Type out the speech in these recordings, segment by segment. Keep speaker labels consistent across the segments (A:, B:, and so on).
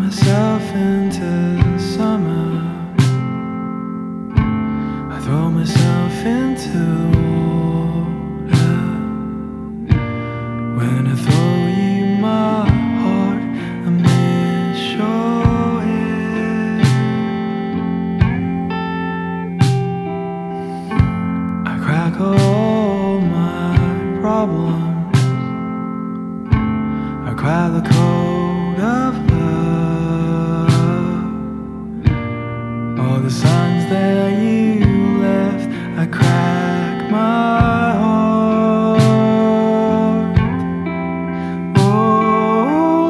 A: myself into summer. I throw myself into the water. When I throw you my heart, I miss your head. I crack all my problems. I crack the code of love. All the signs that you left, I crack my heart. Oh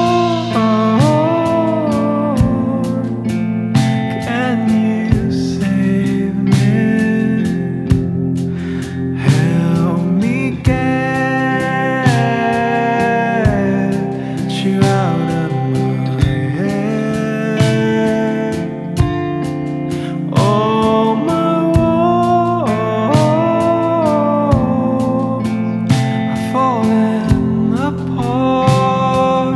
A: Lord, can you save me? Help me get you out of my head. Oh, my walls are falling apart,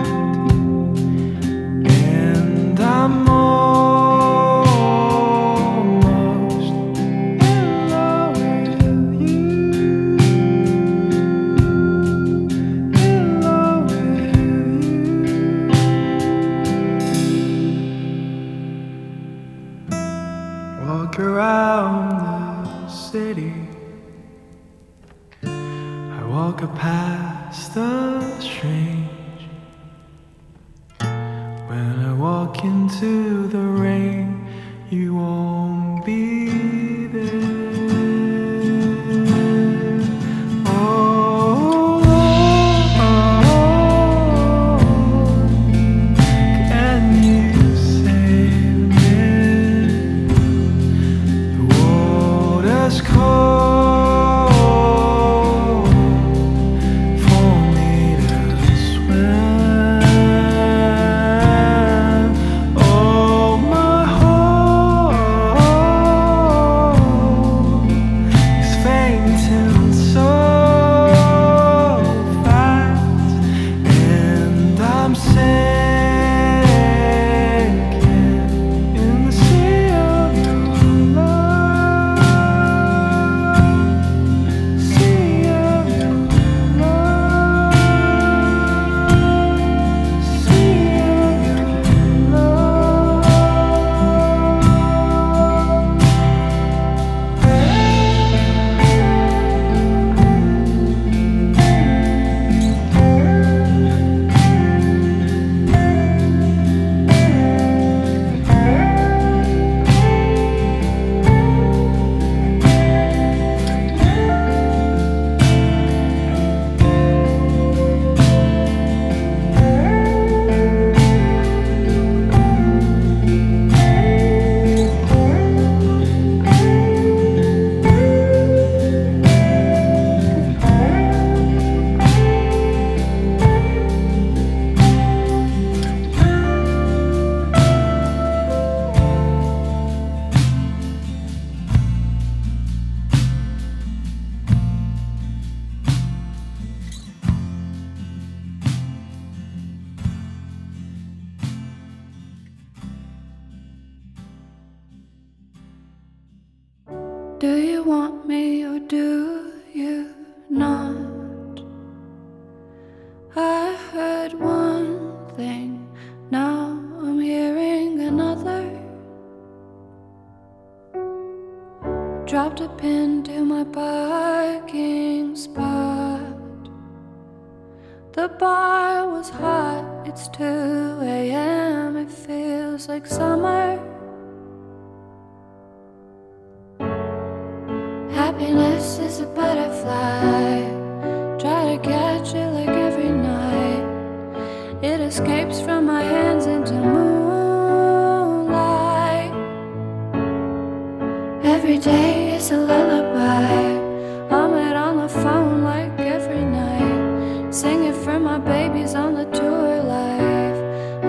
A: and I'm almost in love with you. In love with you. Walk around the city. I walk past the strange. When I walk into the rain, you won't be there. Oh Lord, can you save me? The water's cold for me to swim. Oh, my heart is fainting so fast, and I'm sinking in the sea of your love. Sea of your love. Sea of your love.
B: Do you want me or do you not? I heard one thing, now I'm hearing another. Dropped a pin to my parking spot. The bar was hot, it's 2 a.m. It feels like summer. Happiness is a butterfly. Try to catch it like every night. It escapes from my hands into moonlight. Every day is a lullaby. I'm out on the phone like every night, singing for my babies on the tour life.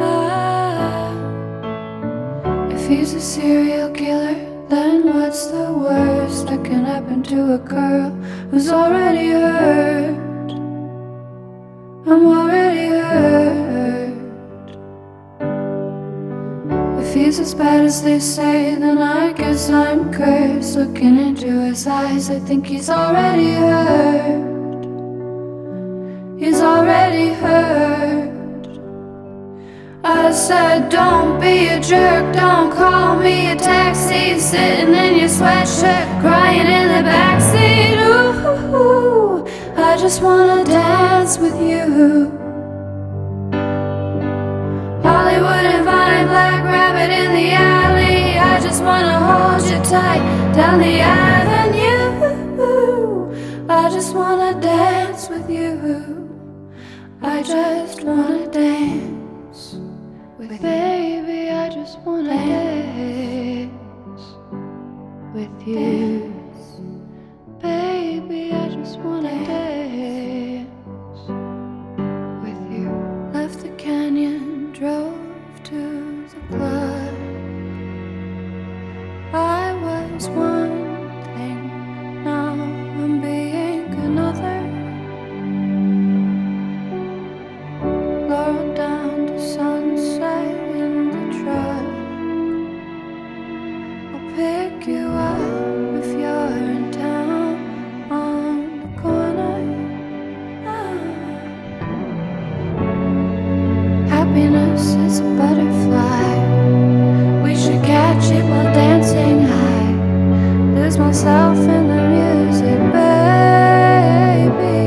B: If he's a serial killer, then what's the worst that can happen to a girl who's already hurt? I'm already hurt. he's as bad as they say, then I guess I'm cursed. Looking into his eyes, I think he's already hurt. He's already hurt. I said, don't be a jerk, don't call me a taxi. Sitting in your sweatshirt, crying in the backseat. Ooh, I just wanna dance with you. Hollywood and Vine, Black Rabbit in the alley. I just wanna hold you tight down the avenue. I just wanna dance with you. I just wanna dance with baby. I just wanna dance with you. Baby, I just wanna dance with you. Left the canyon, drove to the club. I was one thing, now I'm being another. Laurel down to sunset in the truck. I'll pick you up if you're in town on the corner. Happiness is a butterfly. We should catch it while dancing high. Lose myself in the music, baby.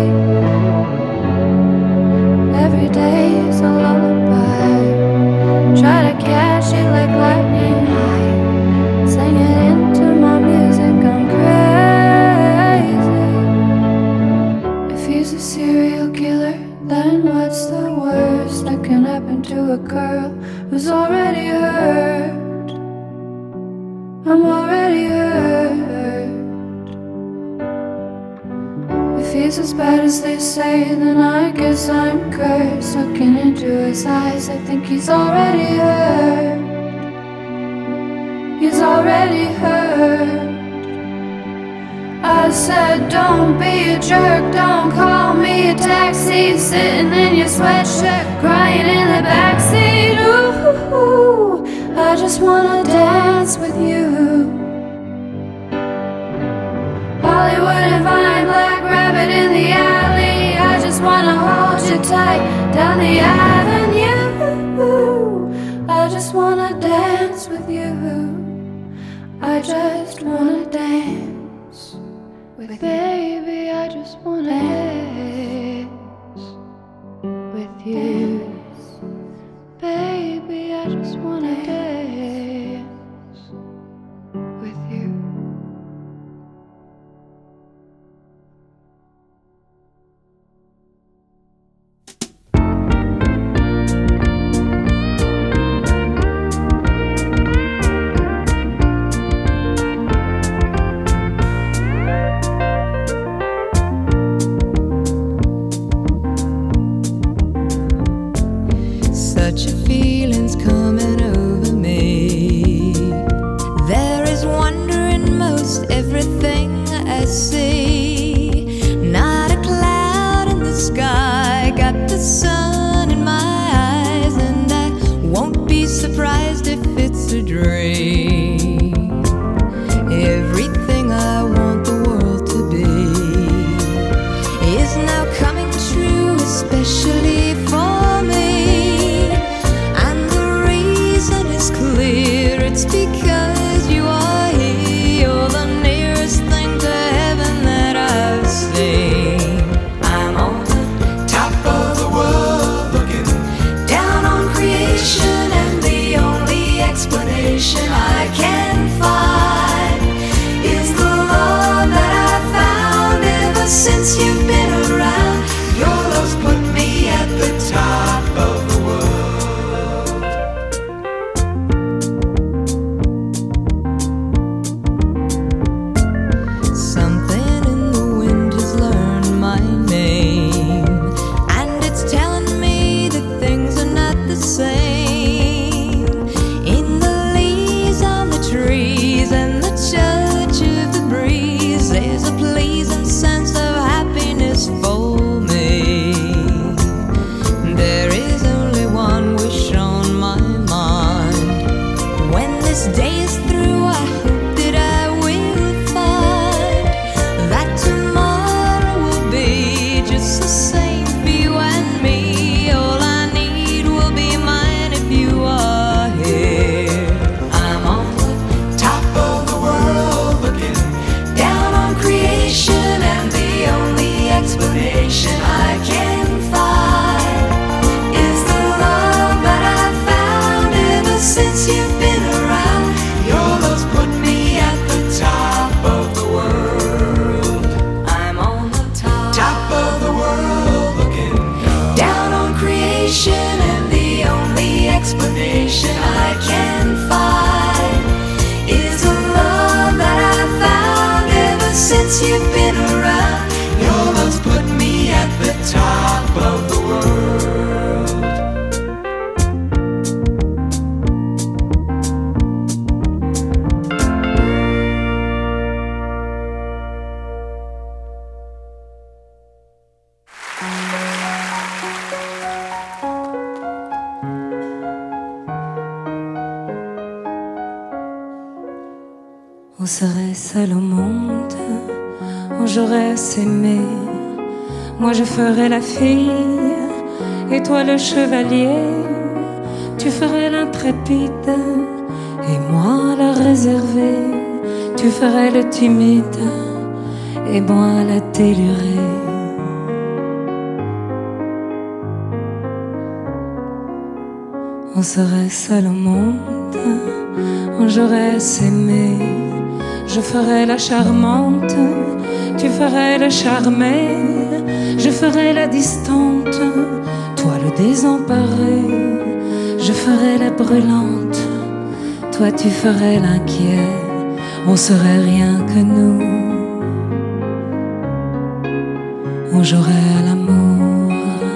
B: Every day is a lullaby. Try to catch it like lightning high. Sing it into my music, I'm crazy. If he's a serial killer, then what's the worst that can happen to a girl who's already hurt? I'm already hurt. If he's as bad as they say, then I guess I'm cursed. Looking into his eyes, I think he's already hurt. He's already hurt. I said, don't be a jerk, don't call me a taxi. Sitting in your sweatshirt, crying in the backseat. Ooh, I just wanna dance with you. Hollywood and Vine, Black Rabbit in the alley. I just wanna hold you tight down the avenue. I just wanna dance with you. I just wanna dance with baby. I just wanna dance with you. Baby, I just wanna dance with you.
C: Such a feeling's coming over me. There is wonder in most everything I see. Not a cloud in the sky, got the sun in my eyes, and I won't be surprised if it's a dream. Everything I want the world to be is now coming true, especially for me. Clear, it's because you are here. You're the nearest thing to heaven that I've seen. I'm on the top of the world, looking down on creation, and the only explanation I can find is the love that I've found ever since you've been around. Your love's put me at the top of the world. There's a pleasing sense of happiness serait seul au monde, on j'aurais s'aimé. Moi je ferais la fille et toi le chevalier. Tu ferais l'intrépide et moi la réservée. Tu ferais le timide et moi la délurée. On serait seul au monde, on j'aurais s'aimé. Je ferais la charmante, tu ferais le charmé. Je ferais la distante, toi le désemparé. Je ferais la brûlante, toi tu ferais l'inquiet. On serait rien que nous, on jouerait à l'amour.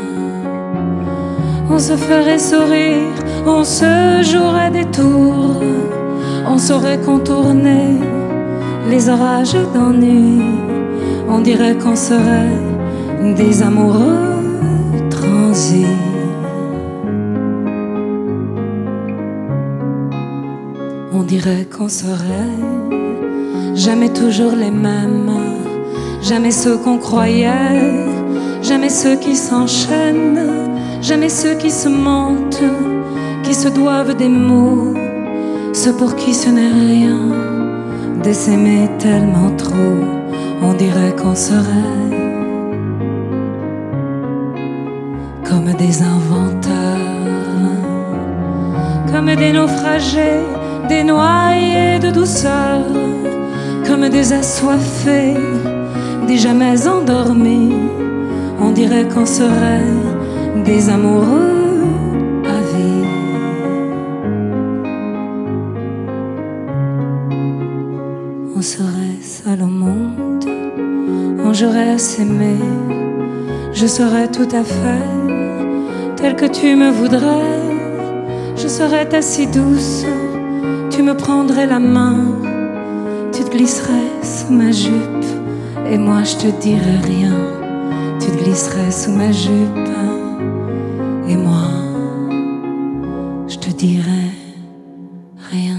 C: On se ferait sourire, on se jouerait des tours. On saurait contourner les orages d'ennui. On dirait qu'on serait des amoureux transis. On dirait qu'on serait jamais toujours les mêmes, jamais ceux qu'on croyait, jamais ceux qui s'enchaînent, jamais ceux qui se mentent, qui se doivent des mots, ceux pour qui ce n'est rien de s'aimer tellement trop. On dirait qu'on serait comme des inventeurs, comme des naufragés, des noyés de douceur, comme des assoiffés, des jamais endormis. On dirait qu'on serait des amoureux à vie. On serait seul au monde, on jouerait à s'aimer. Je serais tout à fait tel que tu me voudrais. Je serais ta si douce, tu me prendrais la main. Tu te glisserais sous ma jupe et moi je te dirais rien. Tu te glisserais sous ma jupe et moi je te dirais rien.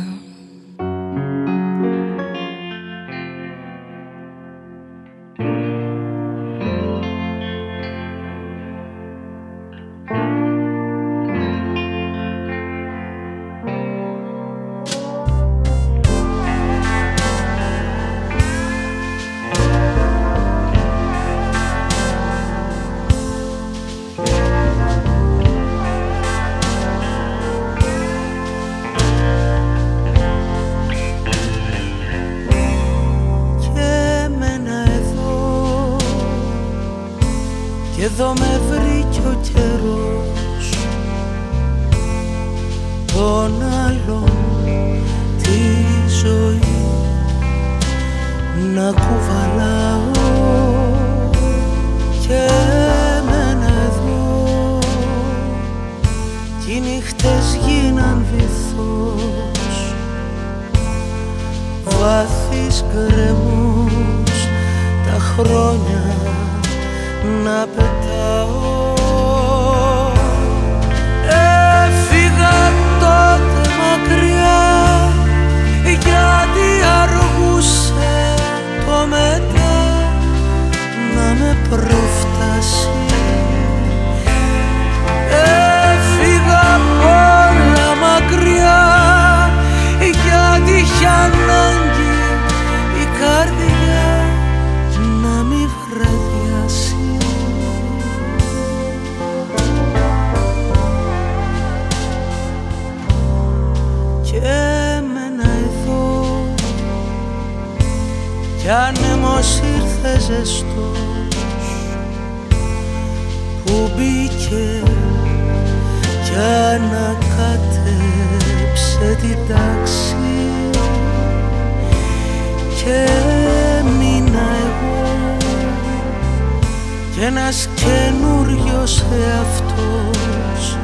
D: Εδώ με βρήκε ο καιρός τον άλλον τη ζωή να κουβαλάω και εμένα εδώ κι οι νύχτες γίναν βυθός βάθης γκρεμός τα χρόνια να πετάω. Έφυγα τότε μακριά γιατί αργούσε το μετά να με προφτάσει. Έφυγα πολλά μακριά γιατί είχε ανάγκη η καρδιά να μη βραδιάσει. Κι άνεμος ήρθε ζεστός που μπήκε κι ανακάτεψε την τάξη και έμεινα εγώ κι ένας καινούριος εαυτός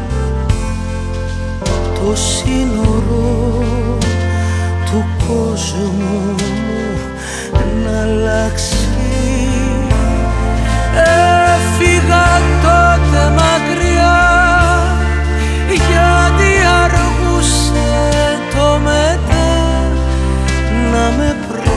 D: το σύνορο του κόσμου να αλλάξει. Έφυγα τότε μακριά γιατί αργούσε το μετά να με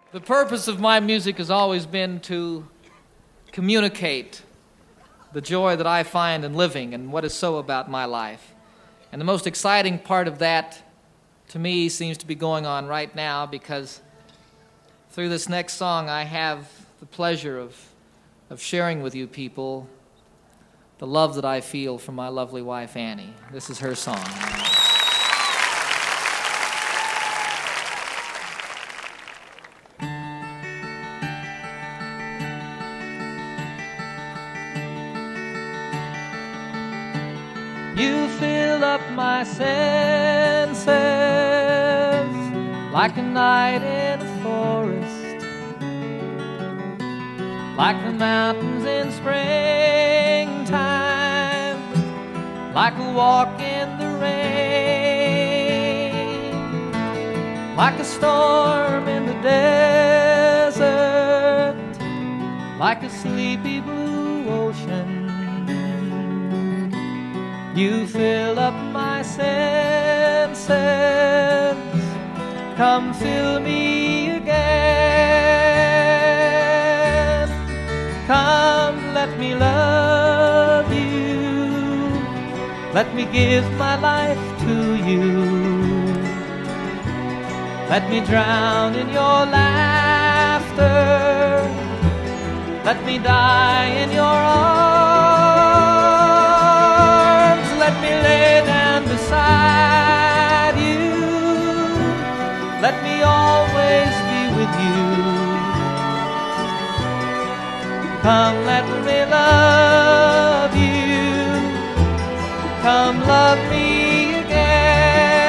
E: The purpose of my music has always been to communicate the joy that I find in living and what is so about my life. And the most exciting part of that, to me, seems to be going on right now, because through this next song I have the pleasure of sharing with you people the love that I feel for my lovely wife, Annie. This is her song. You fill up my senses like a night in a forest, like the mountains in springtime, like a walk in the rain, like a storm in the desert, like a sleepy blue ocean. You fill up my senses, come fill me again. Come, let me love you, let me give my life to you. Let me drown in your laughter, let me die in your arms. Let me lay down beside you, let me always be with you. Come, let me love you, come love me again.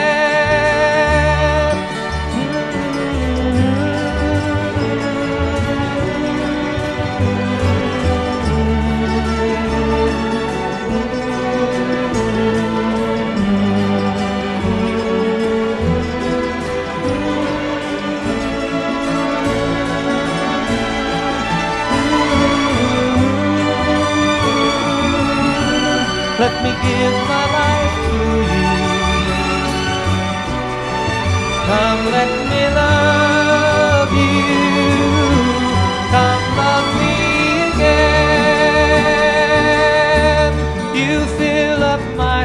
E: Let me give my life to you. Come, let me love you. Come, love me again. You fill up my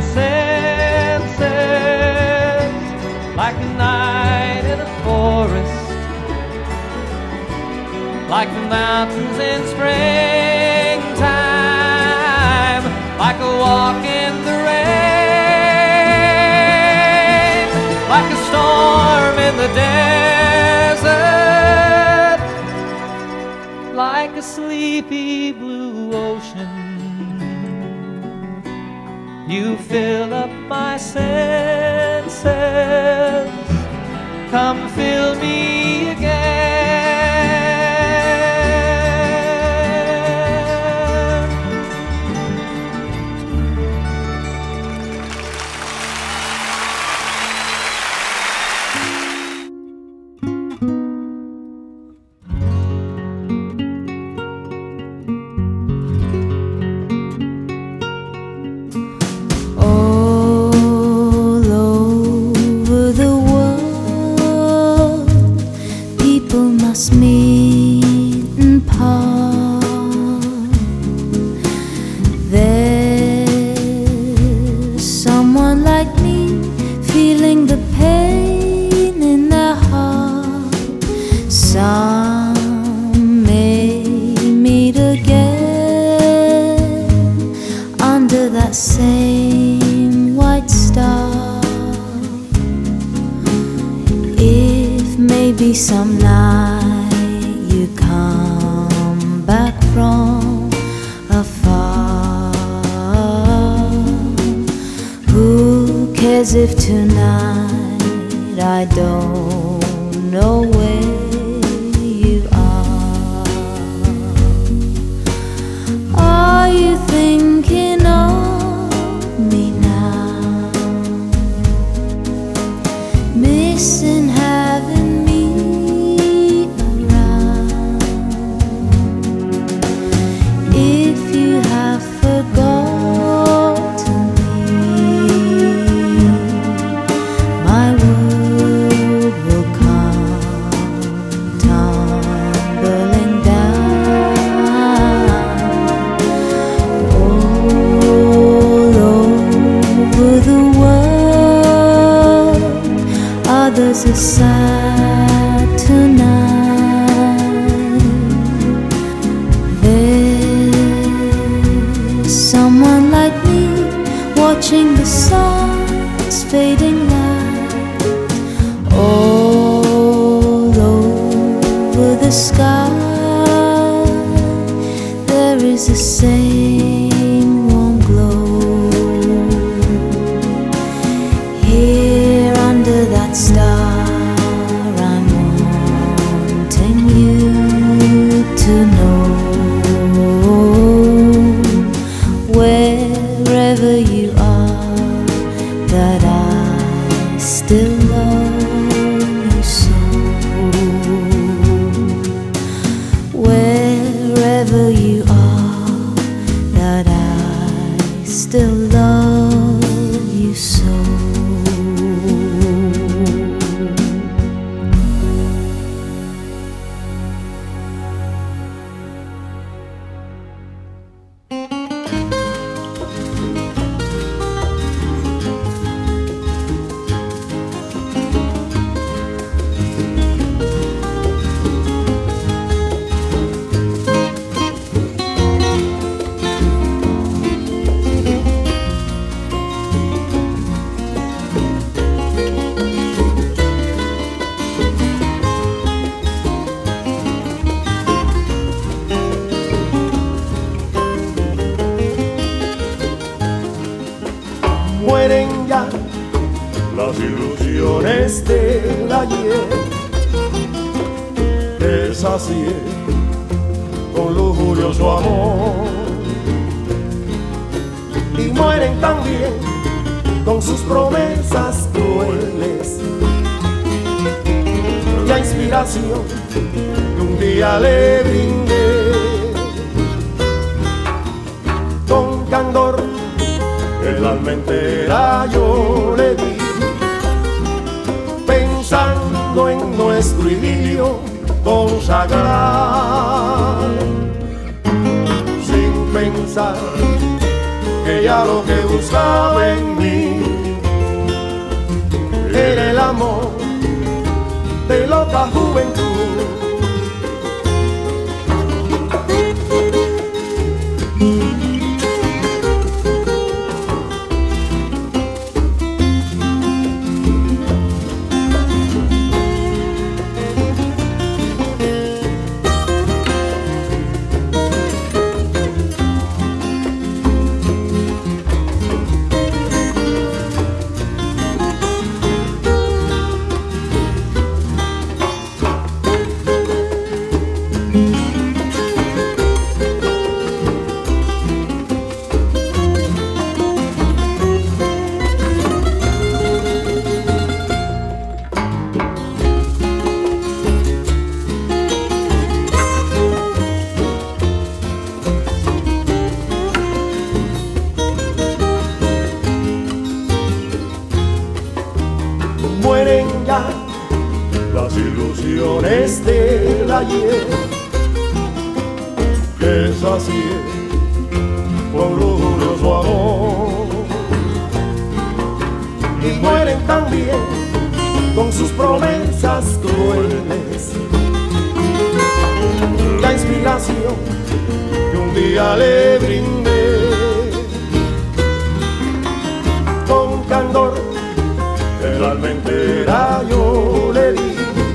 E: senses like a night in a forest, like the mountains in springtime, like a walk in the rain, like a storm in the desert, like a sleepy blue ocean. You fill up my senses, come fill me again.
B: Meet and part. There's someone like me feeling the pain in their heart. Some may meet again under that same white star. If maybe some night you come back from afar, who cares if tonight I don't know where you are you thinking of me now? Missing having me around. If you have forgotten me, my word will come others aside tonight. There's someone like me watching the sun's fading light all over the sky. There is the same warm glow here under that star. I'm wanting you to know, wherever you are, that I still love you so. Wherever you are, that I still love you so.
F: Mueren ya las ilusiones del ayer, deshacié con lujurioso amor, y mueren también con sus promesas crueles, la inspiración que un día le brindé con candor. El alma entera yo le di, pensando en nuestro idilio consagrar, sin pensar que ya lo que buscaba en mí era el amor de loca juventud. Mueren ya las ilusiones del ayer, que sacié con lujurioso amor, y mueren también con sus promesas crueles, la inspiración que un día le brindé con candor. El alma entera yo le di,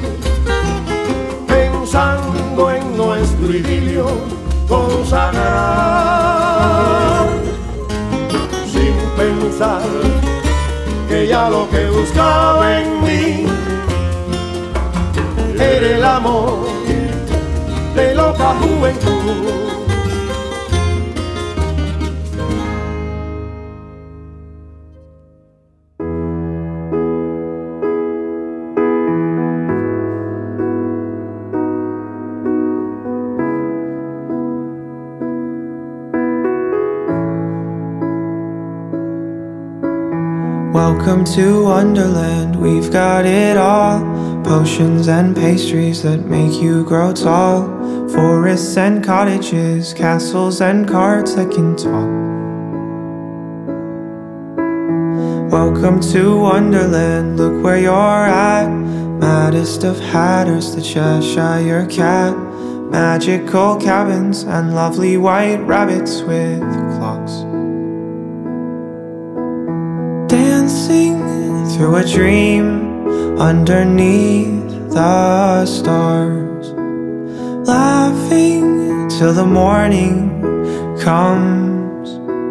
F: pensando en nuestro idilio consagrar, sin pensar que ya lo que buscaba en mí era el amor de loca juventud.
A: Welcome to Wonderland, we've got it all. Potions and pastries that make you grow tall. Forests and cottages, castles and cards that can talk. Welcome to Wonderland, look where you're at. Maddest of hatters, the Cheshire Cat. Magical cabins and lovely white rabbits with clocks. Dancing through a dream underneath the stars. Laughing till the morning comes.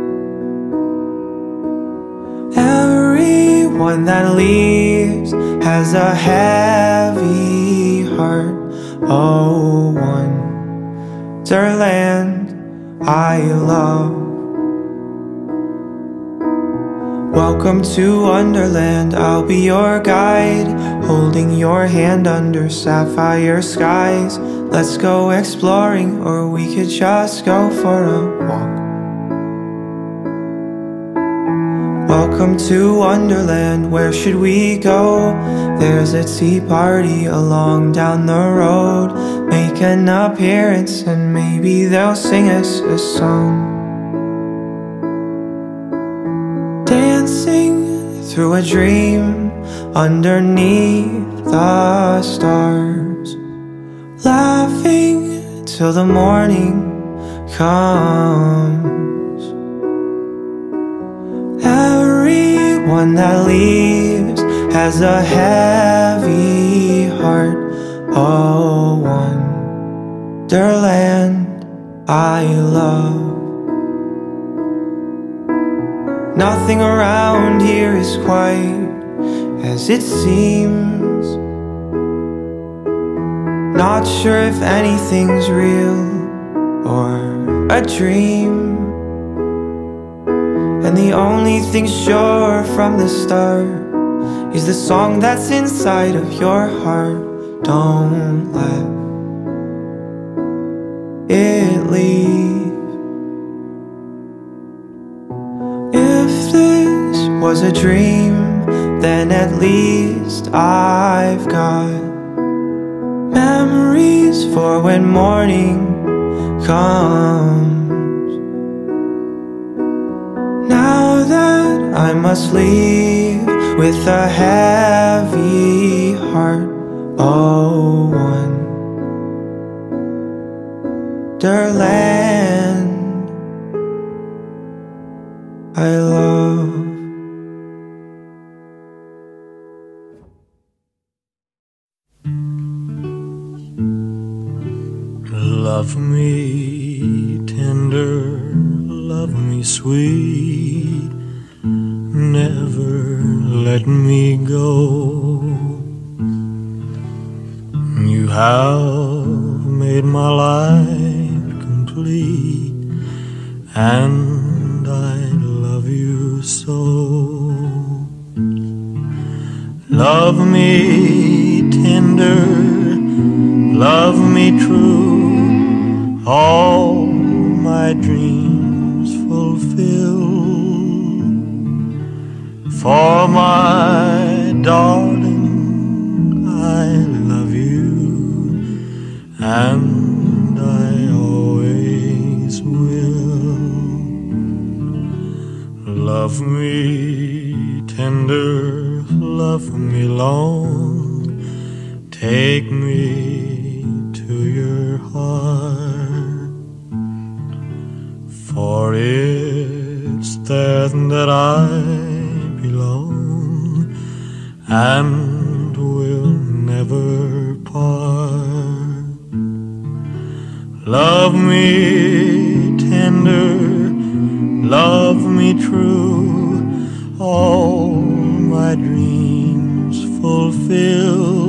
A: Everyone that leaves has a heavy heart. Oh, Wonderland I love. Welcome to Wonderland, I'll be your guide, holding your hand under sapphire skies. Let's go exploring, or we could just go for a walk. Welcome to Wonderland, where should we go? There's a tea party along down the road. Make an appearance and maybe they'll sing us a song. Dancing through a dream underneath the stars. Laughing till the morning comes. Everyone that leaves has a heavy heart. Oh, Wonderland I love. Nothing around here is quite as it seems. Not sure if anything's real or a dream. And the only thing sure from the start is the song that's inside of your heart. Don't let it leave. If this was a dream, then at least I've got memories for when morning comes. Now that I must leave with a heavy heart. Oh, Wonderland I love.
D: Love me tender, love me sweet, never let me go. You have made my life complete, and I love you so. Love me tender, love me true, all my dreams fulfill. For my darling, I love you, and I always will. Love me tender, love me long, take me to your heart, for it's there that I belong and will never part. Love me tender, love me true, all my dreams fulfill.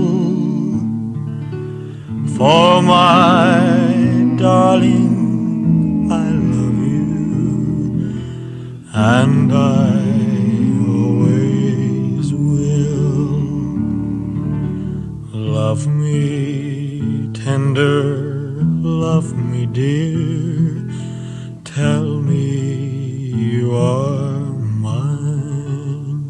D: For my darling, I love you, and I always will. Love me tender, love me dear, tell me you are mine.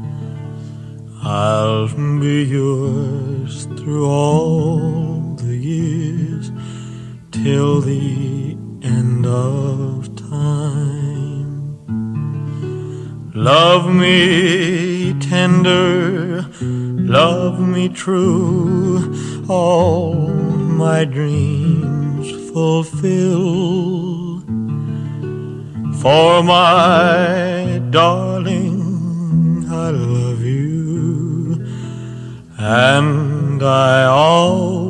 D: I'll be yours through all the years, till the end of time. Love me tender, love me true, all my dreams fulfill. For my darling, I love you, and I always